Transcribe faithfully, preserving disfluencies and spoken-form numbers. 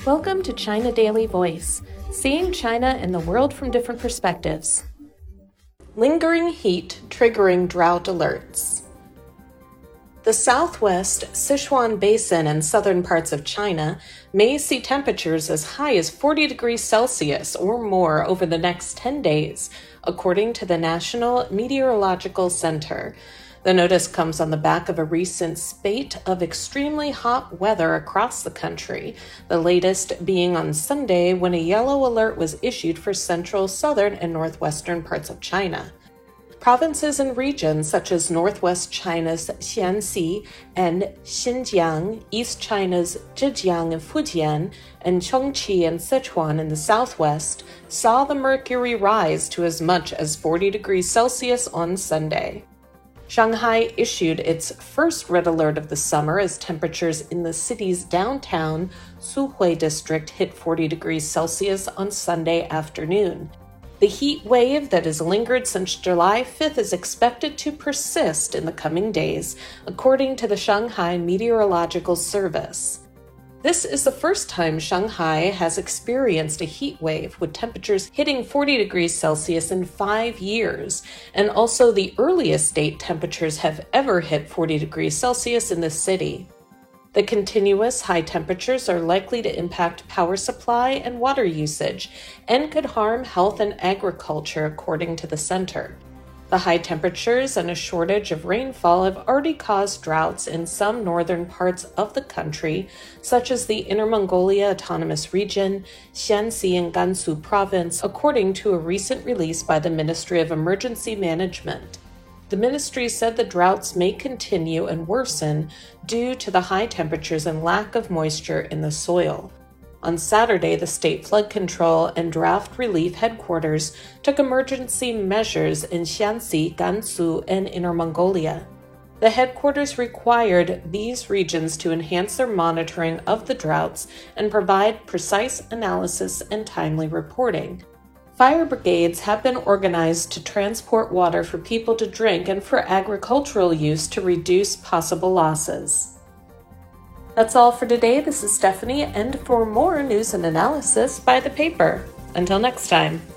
Welcome to China Daily Voice, seeing China and the world from different perspectives. Lingering heat triggering drought alerts. The southwest Sichuan Basin and southern parts of China may see temperatures as high as forty degrees Celsius or more over the next ten days, according to the National Meteorological Center. The notice comes on the back of a recent spate of extremely hot weather across the country, the latest being on Sunday when a yellow alert was issued for central, southern, and northwestern parts of China. Provinces and regions such as northwest China's Shaanxi and Xinjiang, East China's Zhejiang and Fujian, and Chongqing and Sichuan in the southwest saw the mercury rise to as much as forty degrees Celsius on Sunday. Shanghai issued its first red alert of the summer as temperatures in the city's downtown Suhui district hit forty degrees Celsius on Sunday afternoon. The heat wave that has lingered since July fifth is expected to persist in the coming days, according to the Shanghai Meteorological Service. This is the first time Shanghai has experienced a heat wave with temperatures hitting forty degrees Celsius in five years, and also the earliest date temperatures have ever hit forty degrees Celsius in the city. The continuous high temperatures are likely to impact power supply and water usage and could harm health and agriculture, according to the center. The high temperatures and a shortage of rainfall have already caused droughts in some northern parts of the country, such as the Inner Mongolia Autonomous Region, Shaanxi and Gansu Province, according to a recent release by the Ministry of Emergency Management. The ministry said the droughts may continue and worsen due to the high temperatures and lack of moisture in the soil. On Saturday, the State Flood Control and Drought Relief Headquarters took emergency measures in Shaanxi, Gansu, and Inner Mongolia. The headquarters required these regions to enhance their monitoring of the droughts and provide precise analysis and timely reporting. Fire brigades have been organized to transport water for people to drink and for agricultural use to reduce possible losses. That's all for today. This is Stephanie, and for more news and analysis, buy the paper. Until next time.